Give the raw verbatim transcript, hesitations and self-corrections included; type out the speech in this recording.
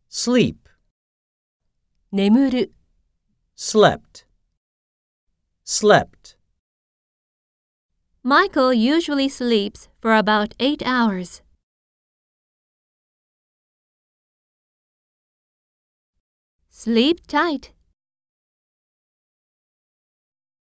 sleep, 眠る、 slept, slept. Michael usually sleeps for about eight hours. Sleep tight.